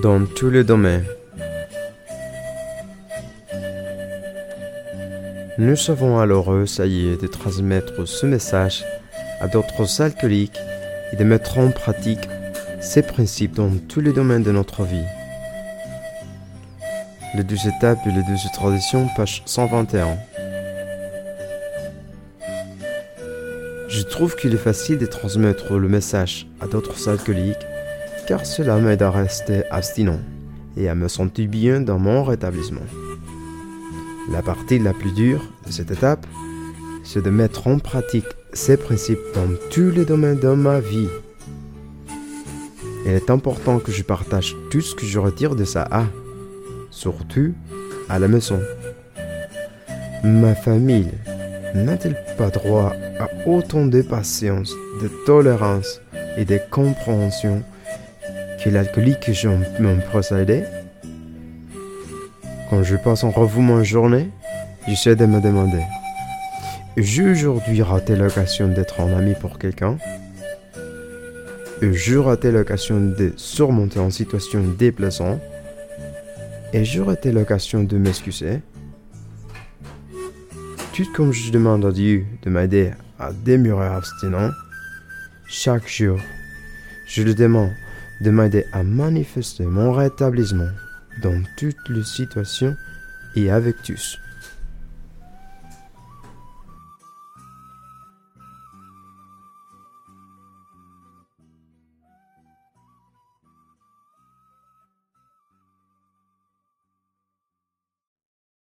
dans tous les domaines. Nous savons alors essayer de transmettre ce message à d'autres alcooliques et de mettre en pratique ces principes dans tous les domaines de notre vie. Les 12 étapes et les 12 traditions, page 121. Je trouve qu'il est facile de transmettre le message à d'autres alcooliques car cela m'aide à rester abstinent et à me sentir bien dans mon rétablissement. La partie la plus dure de cette étape, c'est de mettre en pratique ces principes dans tous les domaines de ma vie. Il est important que je partage tout ce que je retire de ça, surtout à la maison. Ma famille n'a-t-elle pas droit à autant de patience, de tolérance et de compréhension que l'alcoolique que j'ai mon procédé? Quand je passe en revue ma journée, j'essaie de me demander: j'ai aujourd'hui raté l'occasion d'être un ami pour quelqu'un? J'ai raté l'occasion de surmonter une situation déplaisante? Et j'ai raté l'occasion de m'excuser? Tout comme je demande à Dieu de m'aider à demeurer abstinent, chaque jour, je lui demande de m'aider à manifester mon rétablissement dans toutes les situations et avec tous.